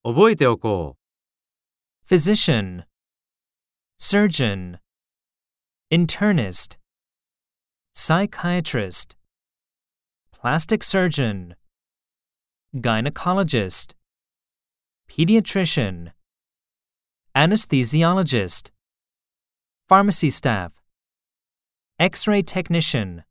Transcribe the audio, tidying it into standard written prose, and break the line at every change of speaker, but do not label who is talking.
覚えておこう。
physician, surgeon, internist, psychiatrist, plastic surgeon, gynecologist, pediatrician, anesthesiologist, pharmacy staff, X-ray technician,